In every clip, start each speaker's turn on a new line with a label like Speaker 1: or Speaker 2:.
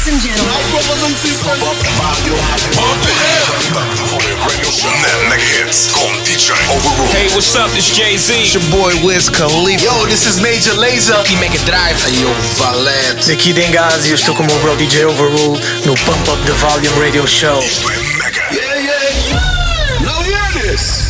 Speaker 1: Ladies and gentlemen.
Speaker 2: Hits com DJ Overrule.
Speaker 3: Hey, what's up? This Jay-Z.
Speaker 4: It's your boy Wiz Khalifa.
Speaker 5: Yo, this is Major Lazer.
Speaker 3: E Mega Drive.
Speaker 4: Hey, yo, Valete.
Speaker 6: Daqui Dengazi, eu estou com o meu bro DJ Overrule no Pump Up the Volume Radio Show.
Speaker 2: Yeah.
Speaker 5: Now hear this.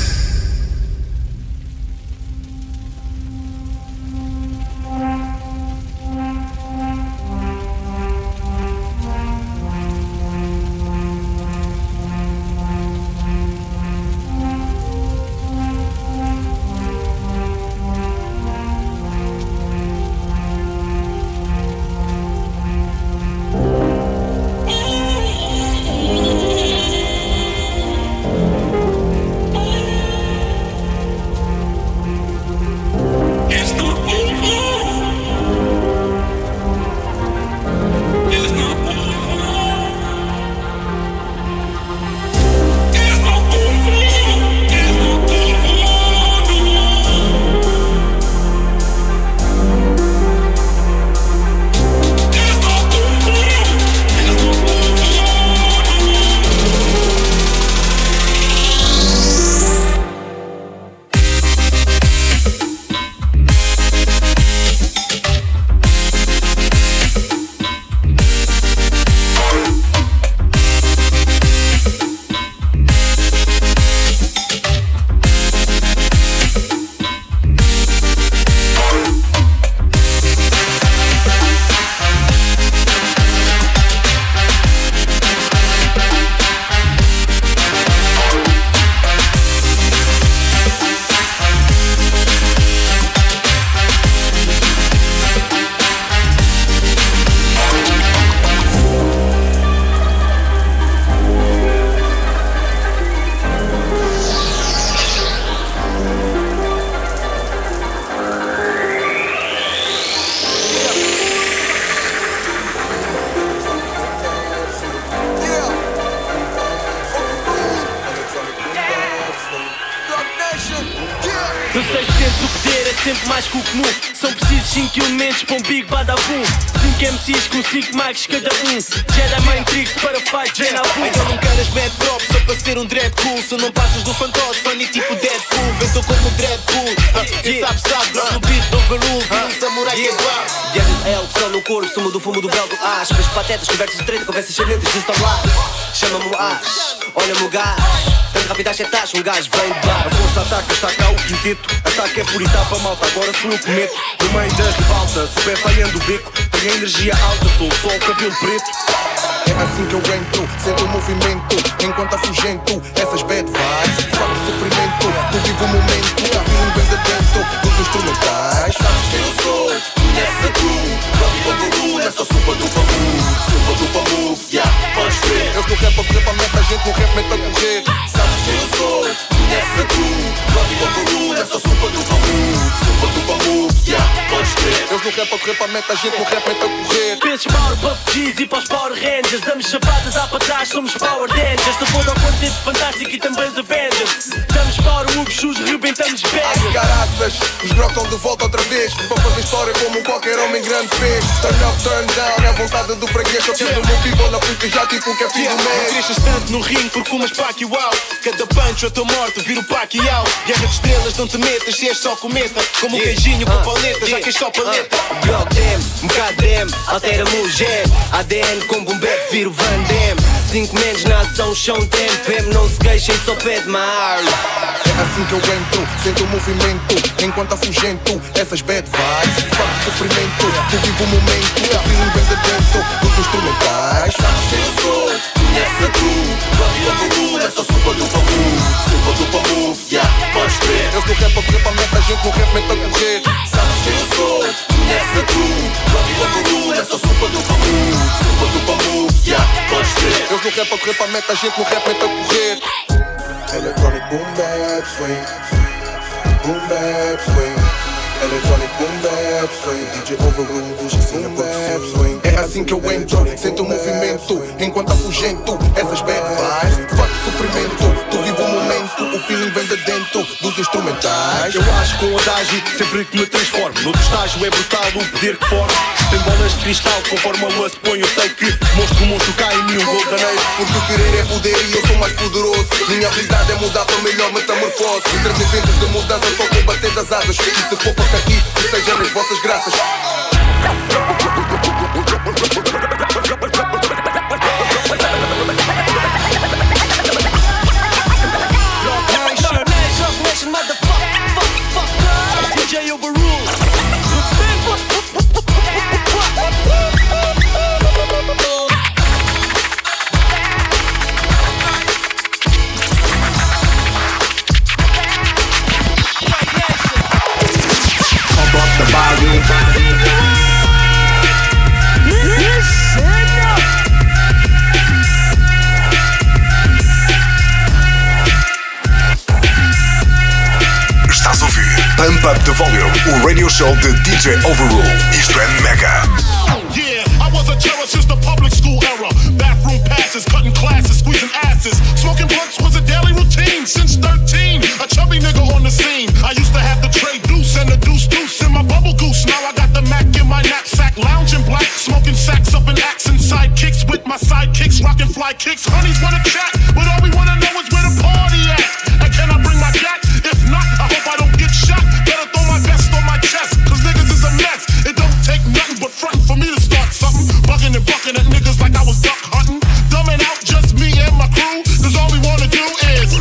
Speaker 7: Sempre mais que o comum. São precisos 5 elementos para um Big Badabum. 5 MCs com 5 mics cada um. Jedi Mind Tricks para fight, treina a boom.
Speaker 8: Então não queres mad drop só para ser um dread cool. Se não passas do fantoche, funny tipo Deadpool. Vê só como Dreadpool. Quem sabe, drop no beat do Overrule. Vira um samurai que é bravo.
Speaker 7: Viagens é opção no corpo, sumo do fumo do brau do as. Vês patetas, conversas de treta, conversas excelentes de estão lá. Chama-me o as, olha-me o gás. Tanto rápido às setadas, um gajo vem de bar.
Speaker 8: A força ataca, está cá o quinteto. Ataque é por etapa, malta, agora sou eu que meto. No meio da ribalta, super falhando o beco. Tenho energia alta, sou só o cabelo preto. É assim que eu entro, sento o movimento. Enquanto afugento, essas bad vibes. Faço sofrimento, eu vivo o momento. Ouvindo bem de dentro dos instrumentais. Sabes quem eu sou, conhece a crew. Rock Overrule, essa sopa do bambu. Sopa do bambu, yeah, podes crer. Eu no rap a correr para meta, a gente no rap mete a correr. Sabes quem eu sou, conhece a crew. Rock Overrule, essa sopa do bambu. Sopa do bambu, yeah, podes crer. Eu no rap a correr para meta, a gente no rap mete a correr.
Speaker 7: Penses Power Puff G's e para os Power Rangers. Damos chapadas lá para trás, somos Power Rangers. Se for ao quarteto fantástico e também os Avengers. Damos Power Moves, shoes, rebentamos
Speaker 8: Ai,
Speaker 7: baggers.
Speaker 8: caraças, os grocos estão de volta outra vez. Para fazer história como qualquer homem grande fez. Turn up, turn down, é a vontade do freguês. Eu quero o meu people na frente já tipo que é filho do mês.
Speaker 9: Cresces tanto no ringue porque fumas Pacquiao. Cada punch a tua morte vira o Pacquiao. Guerra de estrelas, não te metas se és só cometa. Como um queijinho com paleta, já que és só paleta.
Speaker 7: Block dem, Mkadem, altera-me o gem. ADN com boom bap, viro Van Damme. 5 menos na ação, chão treme. Vem-me, não se queixem, só pede mar.
Speaker 8: É assim que eu entro, sento o movimento. Enquanto afugento, essas bad vibes. Faço sofrimento, eu vivo o momento. Ouvindo bem de dentro dos instrumentais. Sabes quem eu sou, conhece a crew. Rock Overrule, essa sopa do bambu. Sopa do bambu, yeah, podes crer. Eu no rap a correr para meta, a gente no rap mete a correr. Sabes quem eu sou, conhece a crew. Rock Overrule, essa sopa do bambu. Sopa do bambu, yeah, podes crer. Eu no rap a correr para meta, a gente no rap mete a correr. Electronic boom bap swing, boom bap swing. Electronic boom bap swing, DJ Overrule, boom bap swing. É assim que eu entro, sento o movimento. Enquanto afugento, essas bad vibes. Faço sofrimento, tu vivo o momento. O feeling vem de dentro dos instrumentais.
Speaker 9: Eu acho com o adágio sempre que me transformo. No estágio é brutal o poder que forma. Sem bolas de cristal, conforme a lua se põe, eu sei que monstro, monstro cai em mim, um gol daneiro.
Speaker 8: Porque querer é poder e eu sou mais poderoso. Minha habilidade é mudar para melhor metamorfose. E trazer ventos de mudança só com bater das asas. E se for para aqui, que sejam as vossas graças.
Speaker 9: DJ Overrule.
Speaker 5: Pump up the volume.
Speaker 2: Estás a ouvir Pump Up the Volume, o radio show de DJ Overrule. Isto é mega.
Speaker 1: Yeah, I was a terror since the public school era. Bathroom passes, cutting classes, squeezing asses. Smoking blunts was a daily routine since 13. A chubby nigga on the scene. I used to have the tray deuce and the deuce in my bubble goose. Now I got the Mac in my knapsack, lounging black, smoking sacks up in accent sidekicks with my sidekicks, rocking fly kicks. Honeys wanna chat, but all we wanna know is where the party at. And can I bring my cat? If not, I hope I don't get shot. Better throw my vest on my chest, cause niggas is a mess. It don't take nothing but frontin' for me to start something. Bugging and bucking at niggas like I was duck hunting. Dumbing out just me and my crew, cause all we wanna do is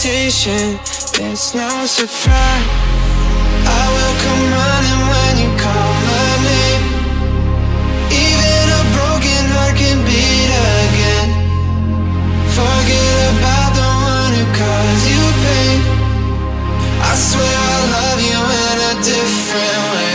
Speaker 10: competition, there's no surprise. I will come running when you call my name. Even a broken heart can beat again. Forget about the one who caused you pain. I swear I love you in a different way.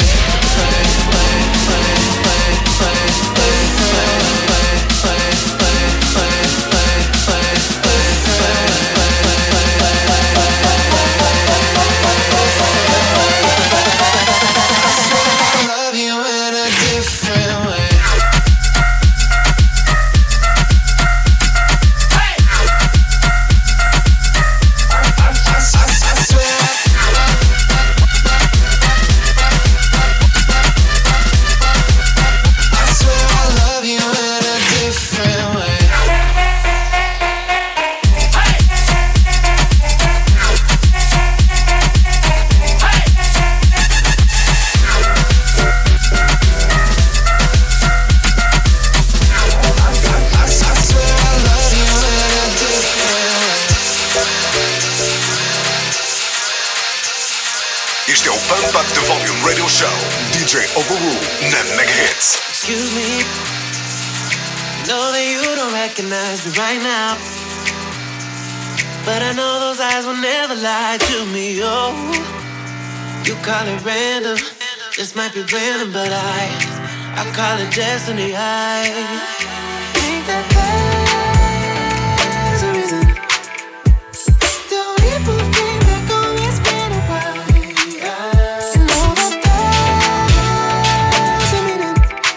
Speaker 2: Este é o Pump Up the Volume Radio Show. DJ Overrule na Mega Hits.
Speaker 10: Excuse me, know that you don't recognize me right now, but I know those eyes will never lie to me. Oh, you call it random, this might be random, but I call it destiny. I think that there's a reason. Don't people think that going is been a while? Know that there's a meaning.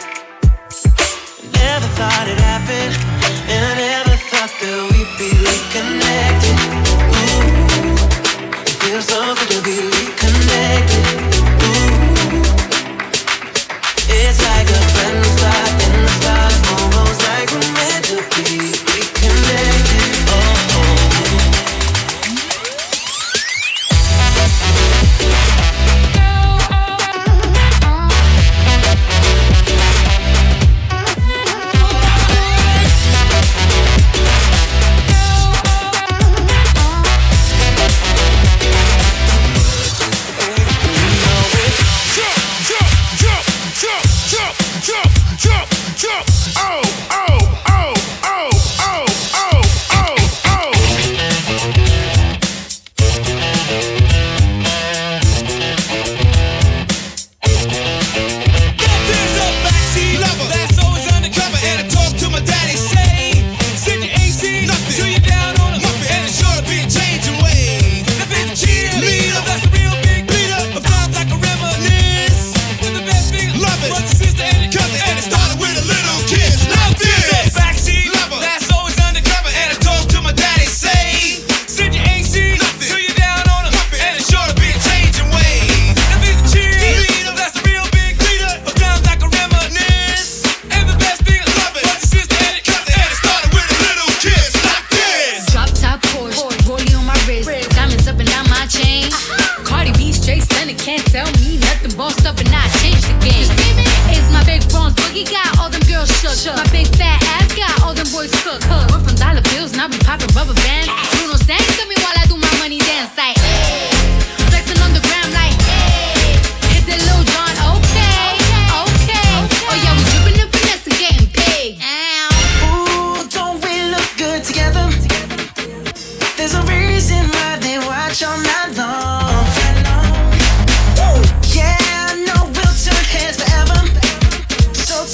Speaker 10: Never thought it happened, and I never thought that we'd be reconnected. Ooh, it feels so good to be reconnected. Ooh, it's like a brand new start in the stars, almost like we're meant to be reconnected. Oh, oh.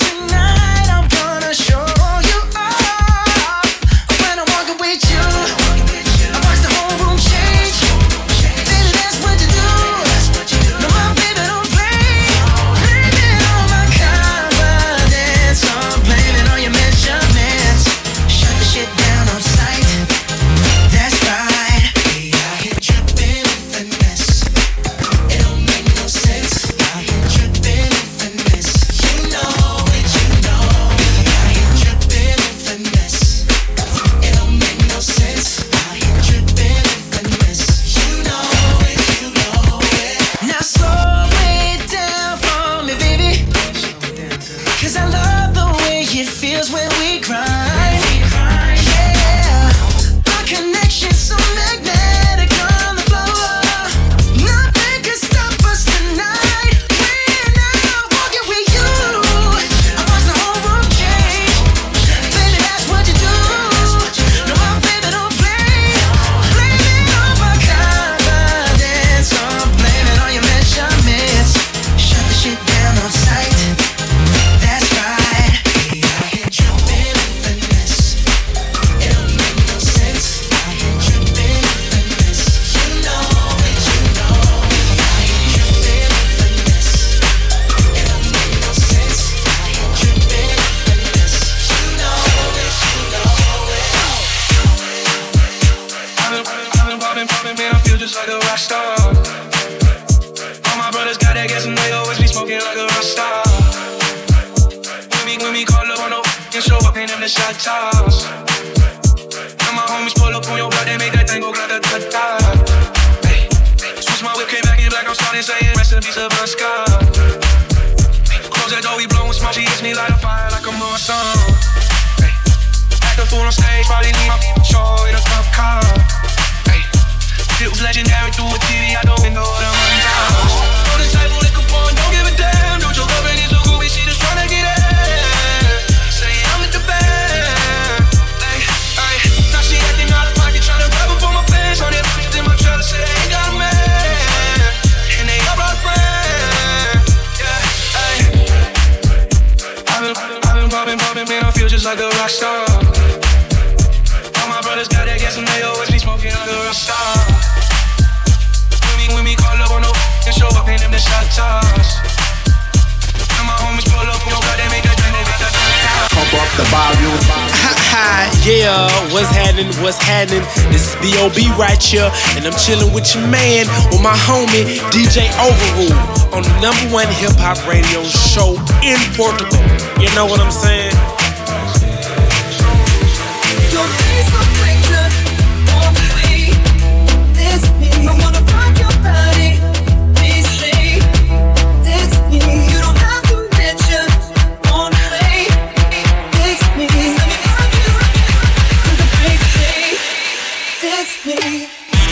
Speaker 10: Tonight I'm gonna show you off when I'm walking with you. shot toss. And my homies pull up on your block, they make that thing go grata-ta-ta. Hey, switch my whip, came back in black, I'm starting saying rest in peace of a scar. Close that door, we blowin' smoke, she hits me like a fire, like I'm on a song. Hey, act the fool on stage, probably need my show in a cup car. Hey, it was legendary through a TV out the window of the money house. On the table, liquor pouring, don't give a damn. Don't joke up and it's a groovy, she just tryna get in. Say I'm at the band. Hey, now she acting out of pocket, tryna grab up on my pants. On it, in my trailer, say they ain't got a man. And they all brought friends. Yeah, hey. I've been poppin', man, I feel just like a rock star. All my brothers got that gas and they always be smoking like a rock star. When we call up on the and show up in them the shot toss. And my homies pull up on your blood, they make that drink, they make that drink.
Speaker 5: Pump up the volume.
Speaker 3: Yeah, what's happening? This is B.O.B. right here, and I'm chilling with your man, with my homie, DJ Overrule, on the #1 hip-hop radio show in Portugal. You know what I'm saying?
Speaker 11: Your face a picture on me. It's me. I wanna rock your body. Please me. It's me. You don't have to mention on me. It's me. Let me rock you to the big thing. It's me.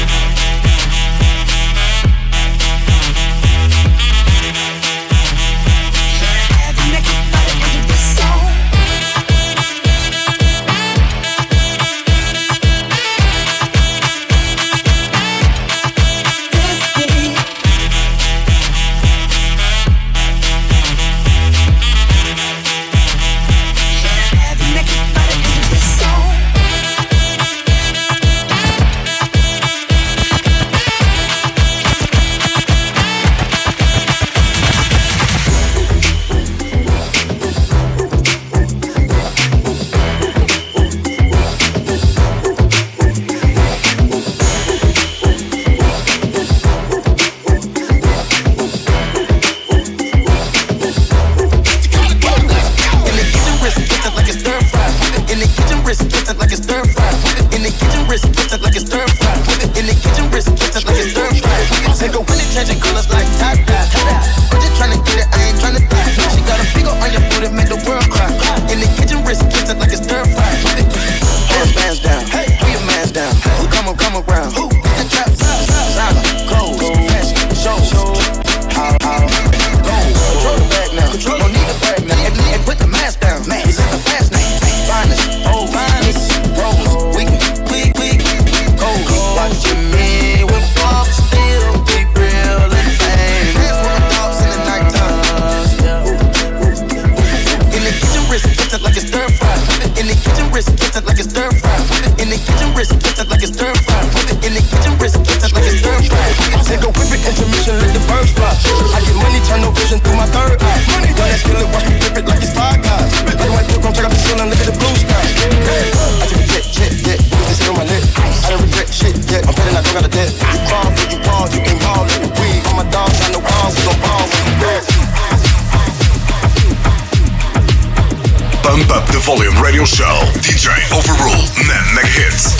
Speaker 2: Pump up the volume radio show. DJ Overrule, Mega Hits.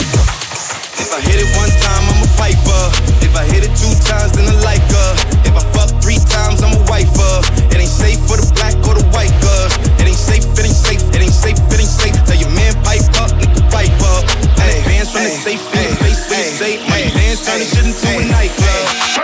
Speaker 12: If I hit it one time, I'm a piper. If I hit it 2 times, then I like her. If I fuck 3 times, I'm a wifer. It ain't safe for the black or the white girl. It ain't safe, it ain't safe, it ain't safe, it ain't safe. Tell your man pipe up, nigga pipe up. Hey, bands from the safe in the face for your safe. My bands turn this shit into a nightclub.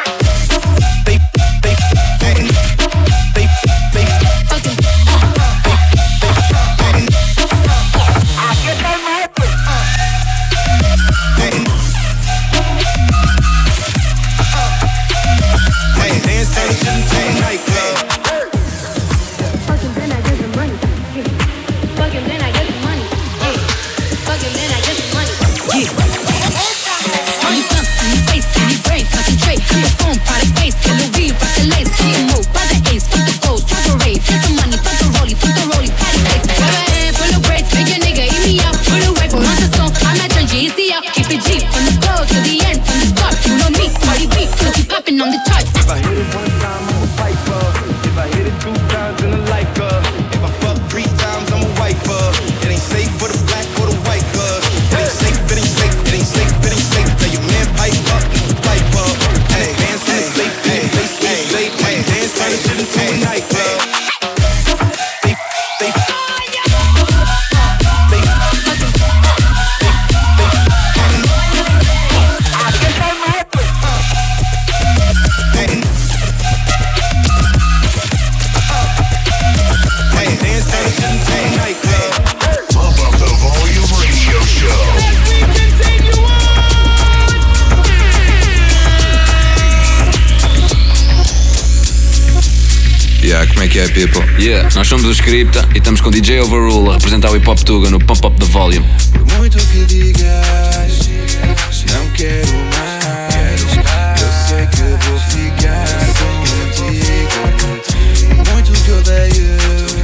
Speaker 11: Fucking been
Speaker 13: que é, people? Yeah, nós somos o Scripta e estamos com DJ Overrule a representar o Hip Hop Tuga no Pump Up the Volume.
Speaker 10: Por muito que digas, não quero mais. Eu sei que vou ficar contigo. Por muito que odeio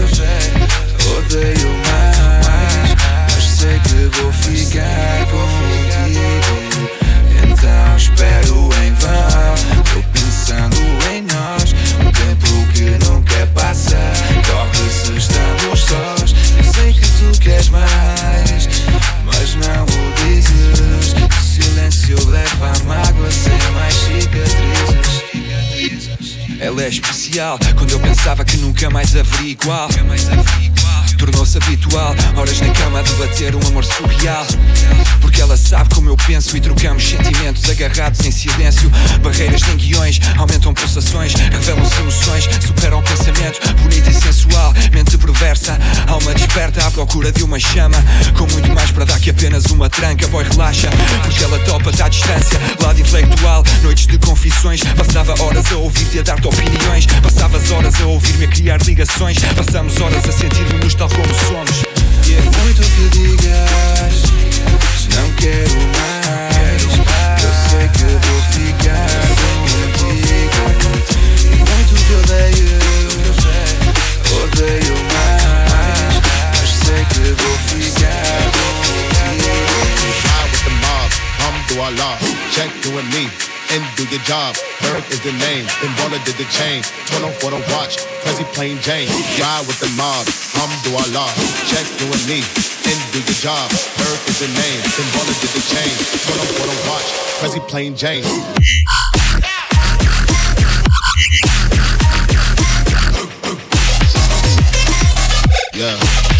Speaker 10: mais, mas sei que vou ficar contigo. Então espero em vão, tô pensando em nós. O tempo que não quer passar, corre se estamos sós. Eu sei que tu queres mais, mas não o dizes. O silêncio leva a mágoa sem mais cicatrizes. Ela é especial, quando eu pensava que nunca mais haveria igual. Tornou-se habitual, horas na cama a debater um amor surreal. Porque ela sabe como eu penso e trocamos sentimentos agarrados em silêncio. Barreiras nem guiões, aumentam pulsações, revelam-se emoções, superam o pensamento. Bonita e sensual, mente perversa, alma desperta à procura de uma chama. Com muito mais para dar que apenas uma tranca. Boy, relaxa, porque ela topa-te à distância. Lado intelectual, noites de confissões. Passava horas a ouvir-te, a dar-te opiniões. Passavas horas a ouvir-me, a criar ligações. Passamos horas a sentir-nos tal como somos. E é muito que digas, não quero mais. Eu sei que vou ficar contigo. E muito que odeio mais, mas sei que vou ficar contigo.
Speaker 1: Ride with the mob, alhamdulillah. Check you and me and do your job. Herc is the name, then Baller did the chain. Turn on for the watch, Prezi plain Jane. Ride with the mob, alhamdulillah. Check you and me and do your job. Herc is the name, then Baller did the chain. Turn on for the watch, Prezi plain Jane. Yeah.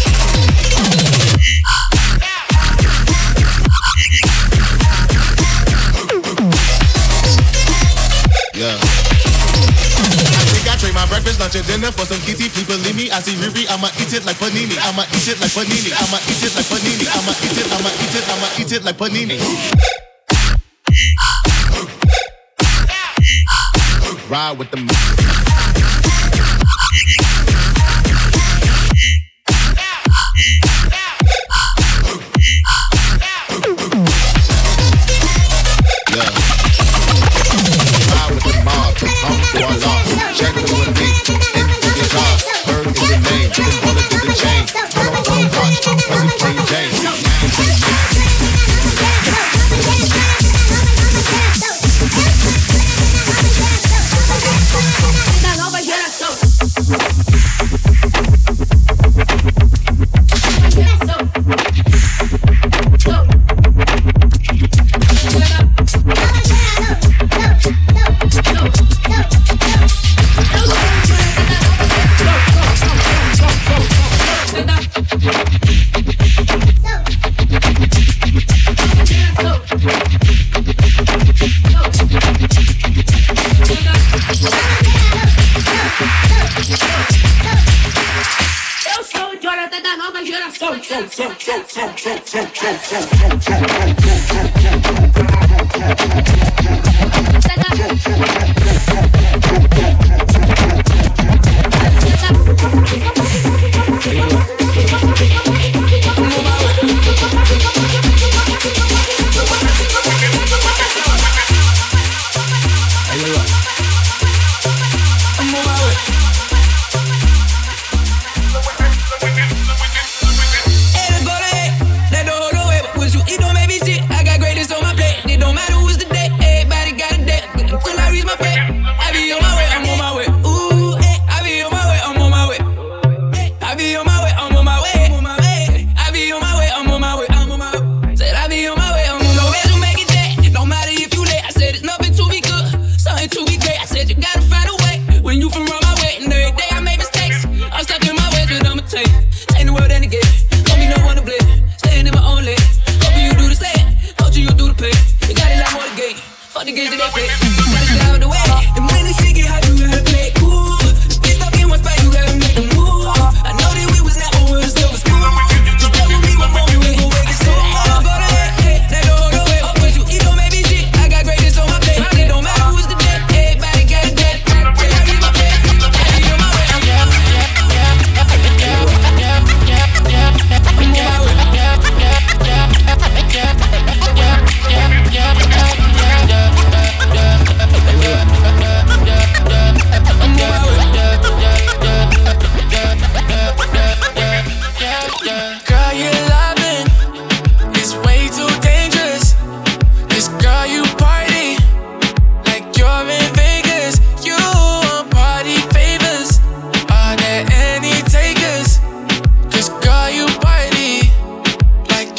Speaker 1: Yeah. I think I trade my breakfast, lunch, and dinner for some kitty. Please believe me, I see Riri, I'ma eat it like panini. I'ma eat it like panini. I'ma eat it like panini. I'ma eat it, I'ma eat it, I'ma eat it like panini. Ride with the check you and me, and do your job. Bird is the name, then Baller did the chain. Turn on for the watch, Prezi plain Jane.
Speaker 11: Da nova geração. Eu sou o Jonathan da nova geração.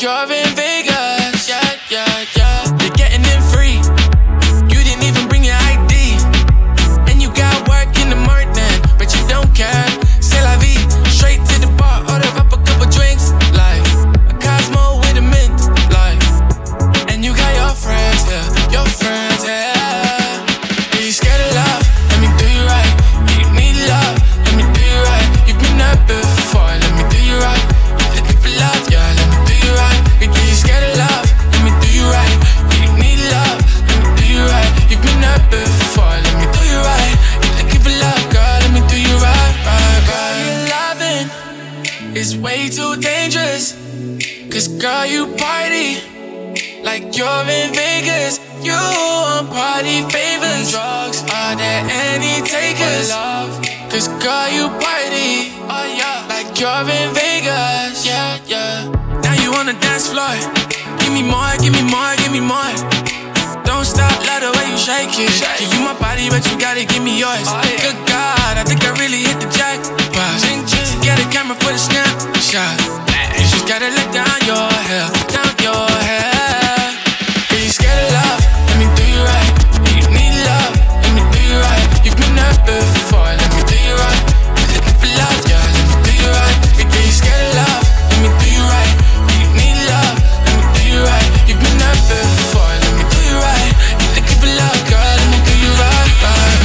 Speaker 14: you're in Vegas. Yeah, yeah, yeah. You're getting in free. You didn't even bring your ID. And you got work in the morning, but you don't care. C'est la vie. Straight to the bar, order up a couple drinks. Like a Cosmo with a mint. Like, and you got your friends, yeah. Your friends, yeah. Are you scared of love? Let me do you right. You need love. Let me do you right. You've been there before. Let me do you right. You're looking for love, yeah. Let me do you right. Are you scared of love? Let me do you right. You need love. Let me do you right. You've been there before. Let me do you right. You're looking for love, girl. Let me do you right, right, right. Your loving is way too dangerous. 'Cause girl, you party like you're in Vegas. You want party favors. Drugs, are there any takers? Love, 'cause girl, you party, oh yeah, like you're in Vegas. Yeah, yeah. Now you on the dance floor. Give me more, give me more, give me more. Don't stop, love the way you shake it. Give you my body, but you gotta give me yours. Good God, I think I really hit the jackpot. Get a camera for the snapshot. You just gotta let down your hair, down your hair. Are you scared of love? Let me do you right. You need love, let me do you right. You've been there before, let me do you right. You're looking for love, yeah, let me do you right. Are you scared of love? Let me do you right. You need love, let me do you right. You've been there before, let me do you right. You're looking for love, girl, let me do you right, right.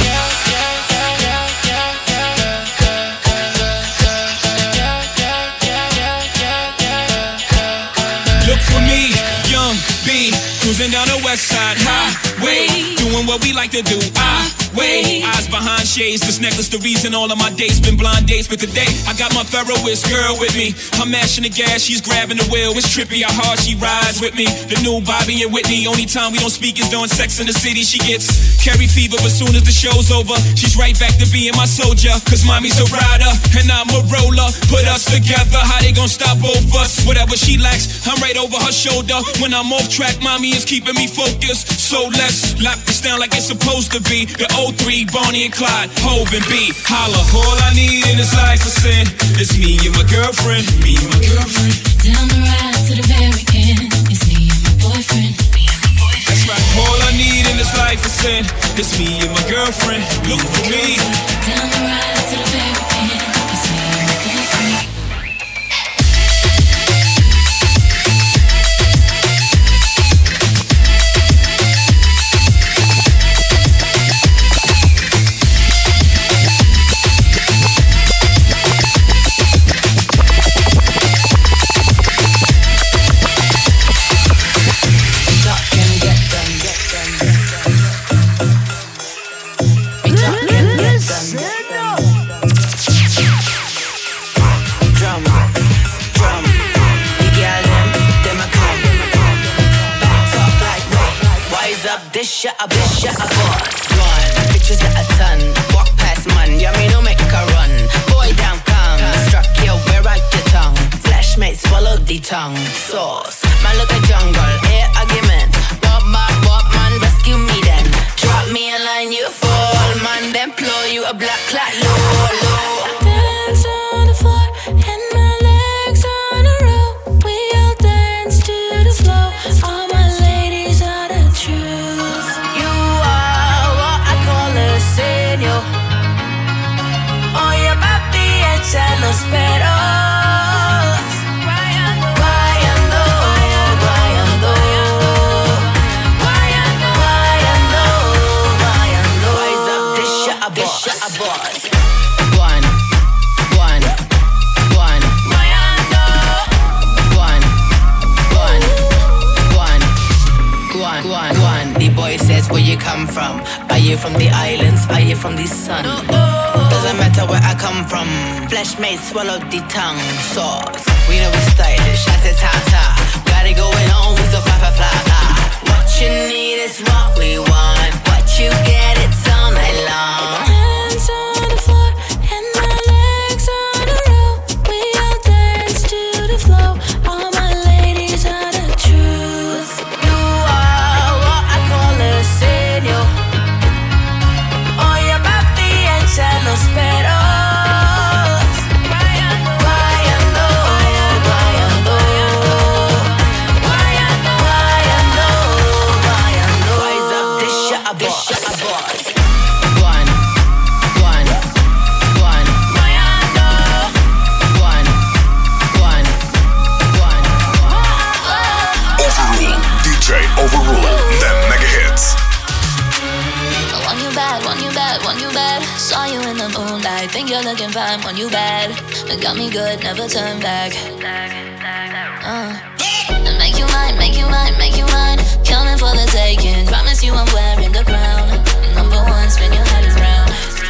Speaker 15: Look for me, young B, cruising down the west side highway, doing what we like to do. Eyes behind shades, this necklace the reason all of my dates been blind dates. But today I got my Ferroist girl with me. I'm mashing the gas, she's grabbing the wheel. It's trippy how hard she rides with me. The new Bobby and Whitney. Only time we don't speak is during Sex in the City. She gets carry fever, but soon as the show's over, she's right back to being my soldier. 'Cause mommy's a rider and I'm a roller. Put us together, how they gon' stop both us? Whatever she lacks, I'm right over her shoulder. When I'm off track, mommy is keeping me focused. So let's lock this down like it's supposed to be. The 03, Bonnie and Clyde, Hov and B, holla. All I need in this life is sin. It's me and my girlfriend, me and my girlfriend.
Speaker 11: Down the ride to the very end. It's me and my boyfriend, me and my boyfriend.
Speaker 15: That's right. All I need in this life is sin. It's me and my girlfriend. Look for me.
Speaker 11: Down the ride to the very end. It's me and my boyfriend.
Speaker 16: A bitch, a boss. One, bitches at a ton. Walk past man, yeah, me no make a run. Boy down come, struck you where I your tongue. Flashmate swallow the tongue. Sauce, man look a jungle, air argument. Walk man, rescue me then. Drop me a line, you fall, man. Then blow you a black clot, low.
Speaker 11: Dance on the floor and my legs on a roll. We all dance to the flow. All my ladies are the truth.
Speaker 16: Oh, your papi echa los peros. Guayando, guayando, guayando, guayando, guayando. Wise up, this shit a boss. One. Guayando. One. The boy says, where you come from? Are you from the islands? Are you from the sun? Doesn't matter where I come from. Flesh may swallow the tongue. Sauce, we know we stylish. Shata-ta-ta. Got it going on, we so fly. What you need is what we want. What you get, it's all night long.
Speaker 11: Hands on the floor and my legs on a roll. We all dance to the flow. All my ladies are the truth.
Speaker 16: You are what I call a señor. Oh, your papi echa los peros. Guayando, guayando, guayando.
Speaker 17: You're looking fine when you bad. It got me good, never turn back. Make you mine, make you mine, make you mine. Coming for the taking. Promise you I'm wearing the crown. Number one, spin your head around.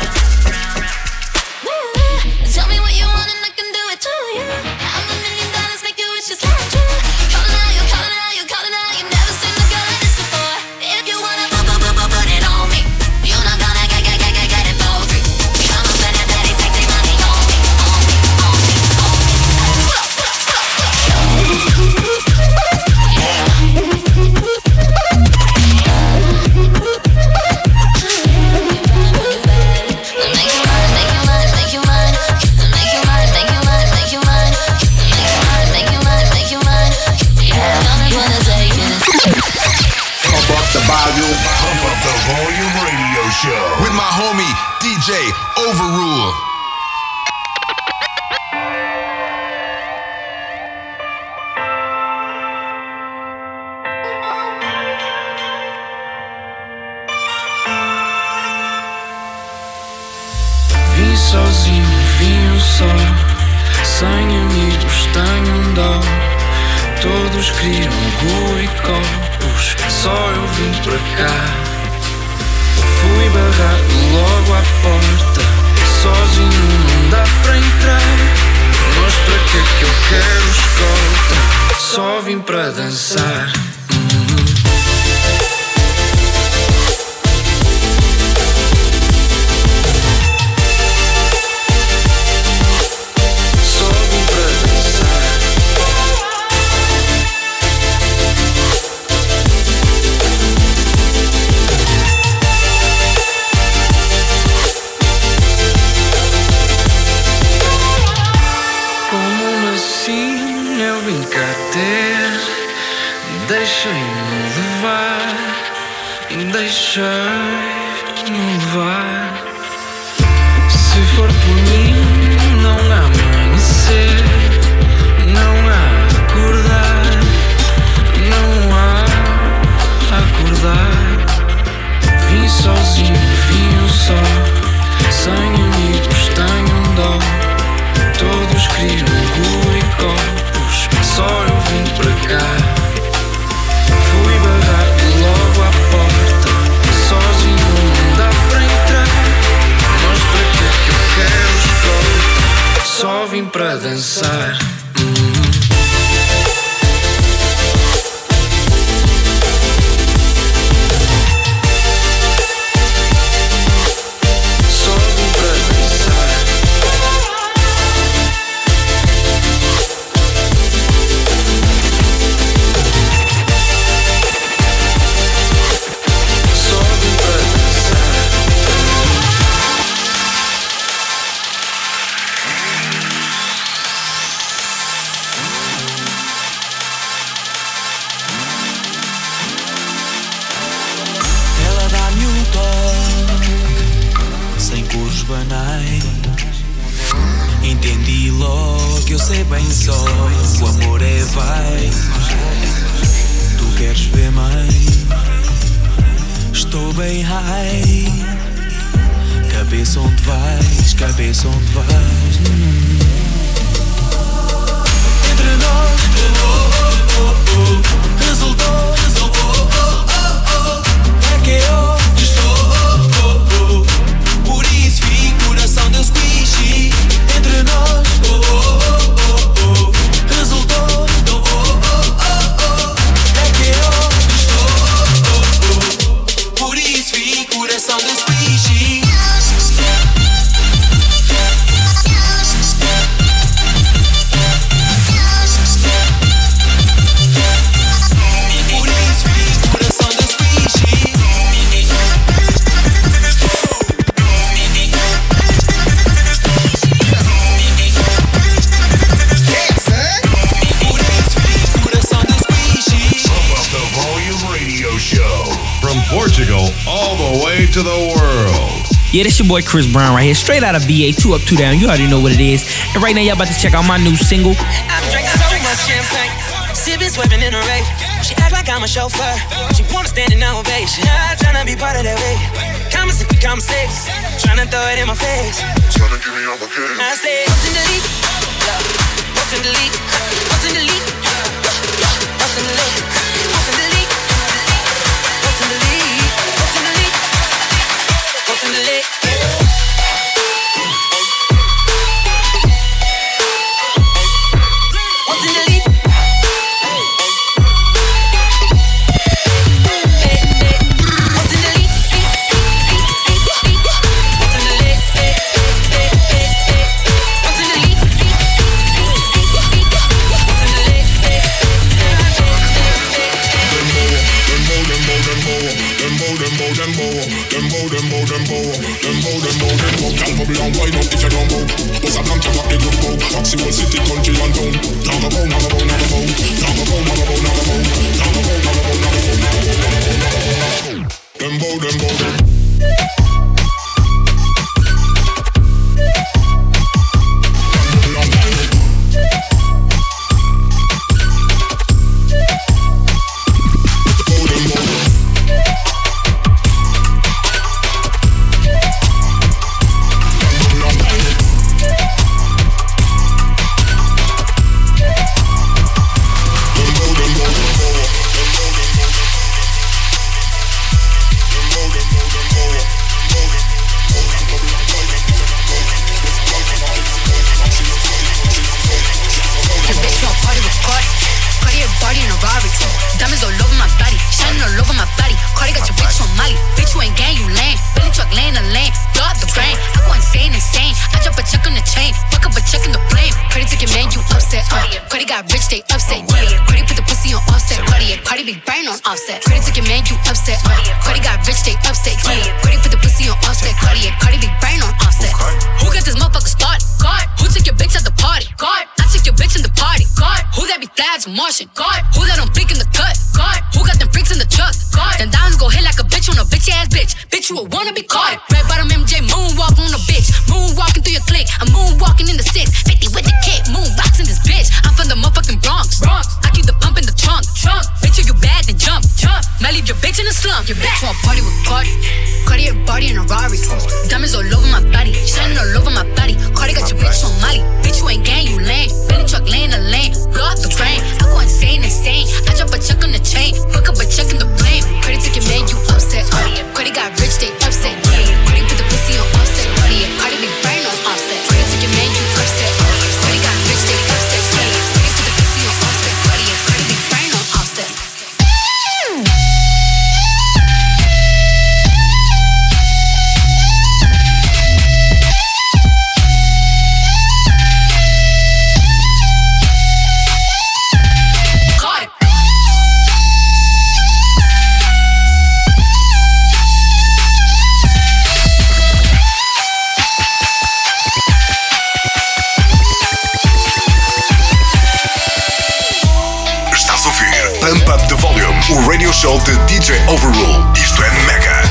Speaker 17: Tell me what you want and I can do it to you. I'm $1 million, make your wishes come true. Calling out, you calling out, you calling out. You never seen a girl like this before. If you wanna put it on me, you're not gonna get it for free. Come on, spend that daddy sexy money on me, on me, on me, on me.
Speaker 2: Pump up the volume radio show
Speaker 4: with my homie DJ Overrule.
Speaker 10: Vim sozinho, vim só, sem amigos, tenho dó. Todos queriam Gu e copos, só eu vim para cá. Fui barrado logo à porta, sozinho não dá para entrar. Mas para que eu quero escolta? Só vim para dançar. Deixei-me levar, deixei-me levar. Se for por mim, não há amanhecer, não há acordar, não há acordar. Vim sozinho, vim só, sem amigos, tenho dó. Todos queriam Gu e copos, só eu vim para cá. Fui barrado logo à porta, sozinho não dá para entrar. Mas para que eu quero escolta? Só vim para dançar.
Speaker 18: Entendi logo, eu sei bem só que o amor é vai. Tu queres ver mais? Estou bem high. Cabeça onde vais, cabeça onde vais. Entre nós, resultou, é que eu estou. Por isso vi coração deu squishy. Entre nós, resultou, é que eu estou. Por isso vi coração deu squishy.
Speaker 2: Portugal all the way to the world.
Speaker 19: Yeah, this your boy Chris Brown right here, straight out of VA, 2 Up 2 Down. You already know what it is. And right now y'all about to check out my new single.
Speaker 20: I'm drinking so much champagne, sipping, sweating in a rave. She act like I'm a chauffeur, she wanna stand in ovation. I'm tryna be part of that way. Come promise if we come six. Tryna throw it in my face.
Speaker 1: Tryna give me all my game.
Speaker 20: I say, what's in the lead? What's in the lead? What's in the lead? What's in the lead? What's in the lead? What's in the lead? What's in the lead? What's in the lead?
Speaker 2: Show de DJ Overrule. Isto é Mega.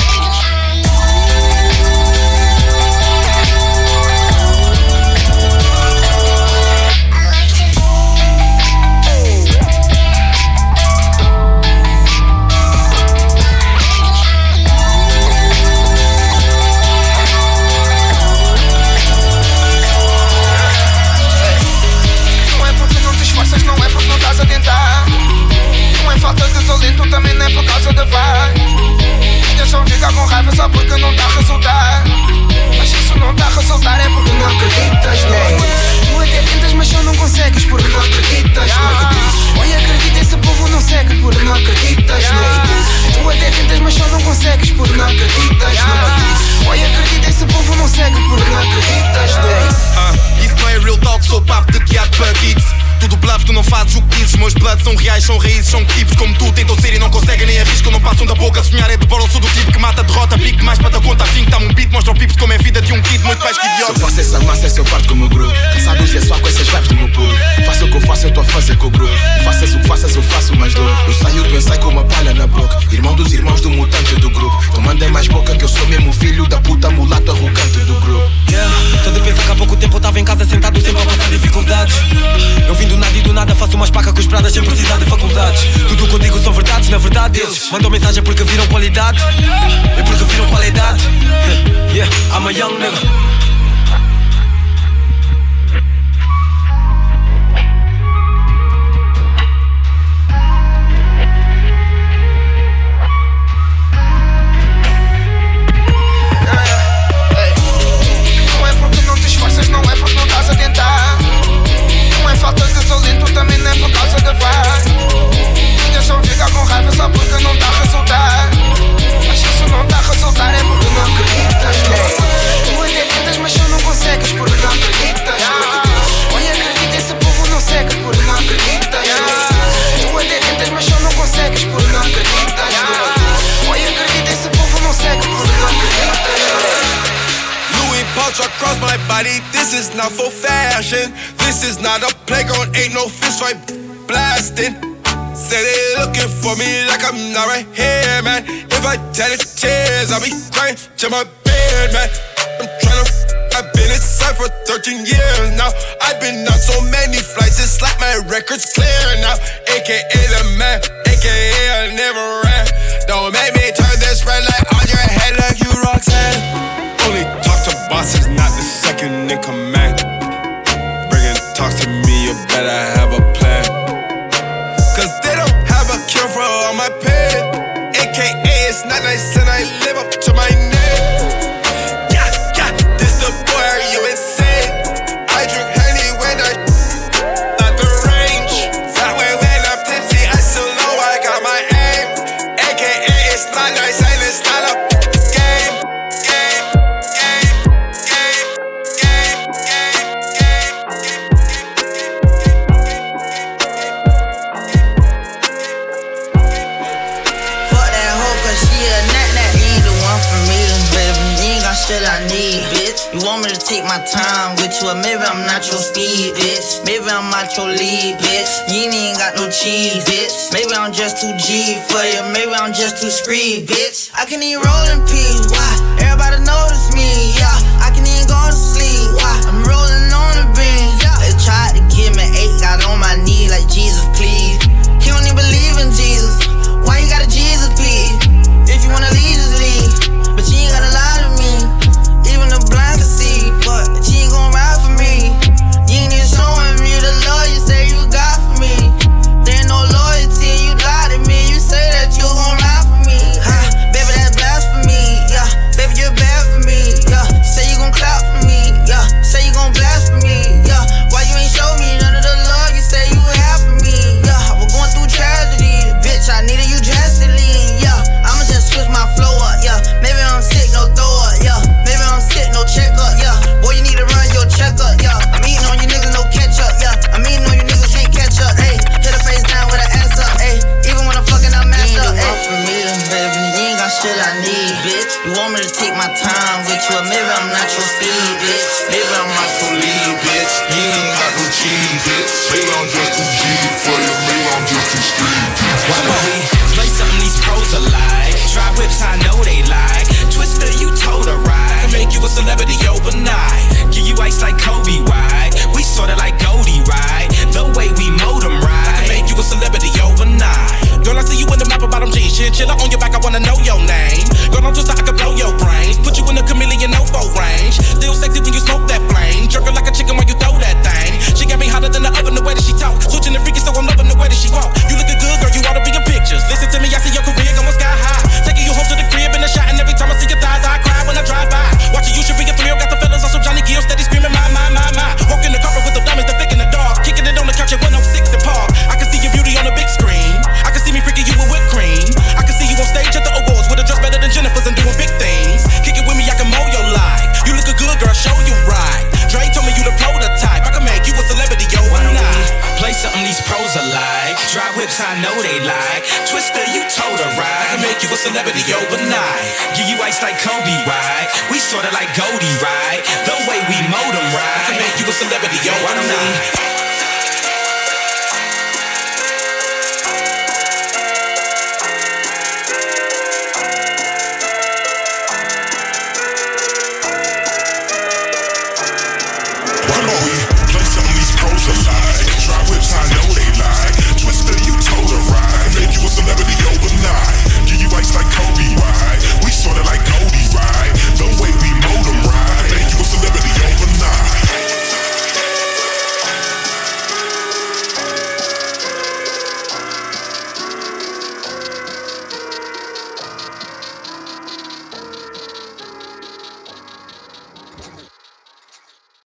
Speaker 10: Não é porque não te esforças, não é porque não estás a tentar. Não é falta de talento, também não é por causa da vibe. Deixam ficar com raiva só porque não está a resultar. Mas se isso não está a resultar é porque não acreditas, não. Tu até tentas, mas só não consegues porque não acreditas, não. Olha, acredita, esse povo não segue porque não acreditas, não. Tu até tentas, mas só não consegues porque não acreditas, não. Olha, acredita, esse povo não segue porque não acreditas, não.
Speaker 12: Isso não é real talk, sou papo de guiado para kids. Tudo bluff, tu não fazes o que dizes. Meus bloods são reais, são raízes, são tipos como tu. Tentam ser e não conseguem nem arriscam. Não passam da boca, sonhar é de bola. Sou do tipo que mata, derrota, pique mais para da conta. Assim que tá um beat, mostra o pips como é vida de um kid. Muito mais que idiota.
Speaker 8: Se eu faço essa massa, esse eu parto com o meu grupo. Cansados e é só com essas vibes do meu pulo. Faço o que eu faço, eu tô a fazer com o grupo. Faças o que faças, eu faço mais dor. Eu saio do ensaio com uma palha na boca. Irmão dos irmãos do mutante do grupo. Tu manda mais boca que eu sou mesmo filho da puta mulato arrogante do grupo.
Speaker 20: Só de pensar que há pouco tempo eu tava em casa sentado sempre a passar dificuldades. Eu vim do nada e do nada faço umas pacas com os pradas sem precisar
Speaker 18: universidade e faculdades. Tudo o que eu digo são verdades, na verdade eles mandam mensagem porque viram qualidade e porque viram qualidade. Yeah, I'm a young nigga.
Speaker 10: Não é porque não te esforças, não é porque não estás a tentar. Não é falta de talento, também não é por causa da paz. Deixam ficar com raiva só porque não está a resultar. Mas se isso não está a resultar é porque não acreditas. Tu até tentas, mas só não consegues porque não acreditas. Olha, acredita, esse povo não segue porque não acreditas. Tu até tentas, mas só não consegues porque não acreditas. Olha, acredita, esse povo não segue porque não acreditas.
Speaker 12: Louis pouch across my body, this is not for fashion. This is not a playground, ain't no fist fight blasting. Say they looking for me like I'm not right here, man. If I tell the tears, I'll be crying to my bed, man. I'm tryna I've been inside for 13 years now. I've been on so many flights, it's like my record's clear now. AKA the man, AKA I never ran. Don't make me turn this red light on your head like you Roxanne. Only talk to bosses, not the second in command. Bringing talks to me, you better have a plan. Cause they don't have a cure for all my pain. AKA it's not nice and I live up to my name. Yeah, yeah, this the boy, are you insane? I drink honey when I at the range. That way when I'm tipsy, I still know I got my aim. AKA it's not nice and it's not a game.
Speaker 16: Shit I need, bitch. You want me to take my time with you, or maybe I'm not your speed, bitch. Maybe I'm not your lead, bitch. You ain't got no cheese, bitch. Maybe I'm just too G for you, maybe I'm just too screed, bitch. I can even roll in peace, why? Everybody notice me, yeah. I can even go to sleep, why? I'm rolling on the beam, yeah. They tried to give me 8, got on my knee like Jesus, please. He don't even believe in Jesus. Why you got a Jesus, please? If you wanna leave, just leave. But you ain't gotta lie to me. Even the blind can see, but you ain't gon' ride for me. You ain't even showing me the love you say you got for me. There ain't no loyalty, you lie to me. You say that you gon' ride for me, huh? Baby, that's blasphemy, yeah. Baby, you're bad for me, yeah. Say you gon' clap for me, yeah. Say you gon' blast for me, yeah. Why you ain't show me none of the love you say you have for me, yeah. I was going through tragedy, bitch, I needed you drastically, yeah. I'ma just switch my flow up, yeah. Maybe I'm sick, no throw up, yeah. Maybe I'm sick, no checkup, yeah. Boy, you need to run your checkup, yeah. I'm eating on you niggas, no catch up, yeah. I'm eating on you niggas, can't catch up, ayy. Hit a face down with an ass up, ayy. Even when I'm fucking, I'm messed up, ayy. For me, baby, you ain't got shit I need, bitch. You want me to take my time with you, or maybe I'm not your speed, bitch. Maybe I'm not your lead, bitch. You ain't got no cheese, bitch. Maybe I'm just too G for you, maybe I'm just too street.
Speaker 18: Why don't we play something these pros alike? Dry whips, I know they like. Twister, you told her right. I can make you a celebrity overnight. Give you ice like Kobe, right? We sorta like Goldie, right? The way we mold them, right? I can make you a celebrity overnight. Girl, I see you in the map about them jeans. Chinchilla on your back, I wanna know your name. Girl, I'm just like I can blow your brains. Put you in the chameleon no-fo range. Still sexy when you smoke that flame. Jerking like a chicken while you throw that thing. She got me hotter than the oven, the way that she talk. Switching the freaky, so I'm loving the way that she walk. You looking good, girl, you ought to be in pictures. Listen to me, I see your career going sky high. Taking you home to the crib in the shot, and every time I see your thighs, I cry when I drive by. Watching you should be a thrill. Got the fellas on some Johnny Gill, steady screaming, my. Walking the carpet with the diamonds, the thick in the dark. Kicking it on the couch at 106 and Park. I can see your beauty on the big screen. I can see me freaking you with whipped cream. I can see you on stage at the awards with a dress better than Jennifer's and doing big things. Kick it with me, I can mow your life. You look good, girl, show you right. Dre told me you the prototype. I can make you a celebrity overnight. Play something these pros are like. Dry whips, I know they like. Twister, you told her right. I can make you a celebrity overnight. Give you ice like Kobe, right? We sorta like Goldie, right? The way we mold them, right? I can make you a celebrity overnight.